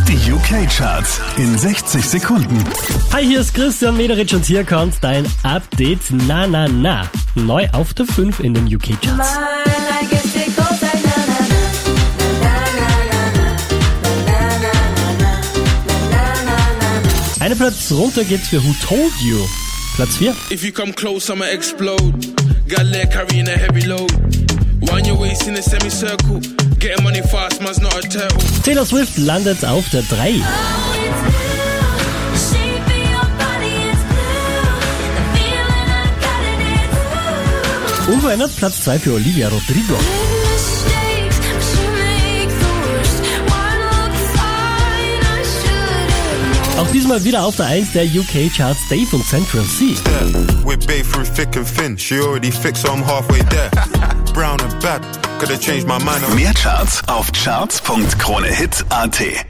Die UK-Charts in 60 Sekunden. Hi, hier ist Christian Mederitsch und hier kommt dein Update. Na, na, na. Neu auf der 5 in den UK-Charts. Eine Platz runter geht's für Who Told You. Platz 4. If you come close, I'ma explode. Got leg carrying a heavy load. Wind your waist in a semicircle. Getting money fast, man's not a turtle. Taylor Swift landet auf der 3. Unverändert Platz 2 für Olivia Rodrigo. Auch diesmal wieder auf der 1 der UK-Charts Dave und Central C. Mehr Charts auf charts.kronehit.at.